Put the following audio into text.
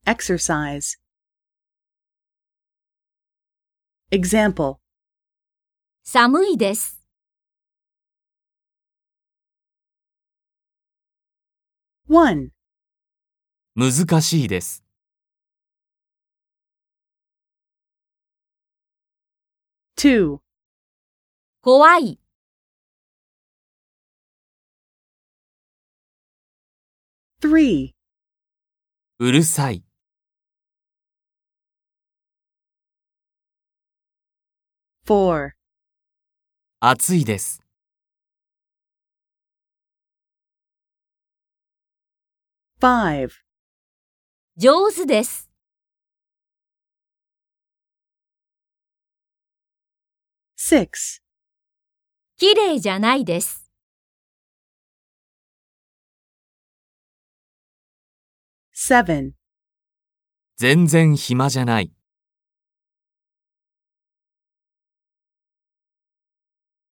exercise. Example. 寒いです。 1. 難しいです。 2. 怖い。 3. うるさい。 4. 暑いです。 5. 上手です。 6. 綺麗じゃないです。 7. 全然暇じゃない。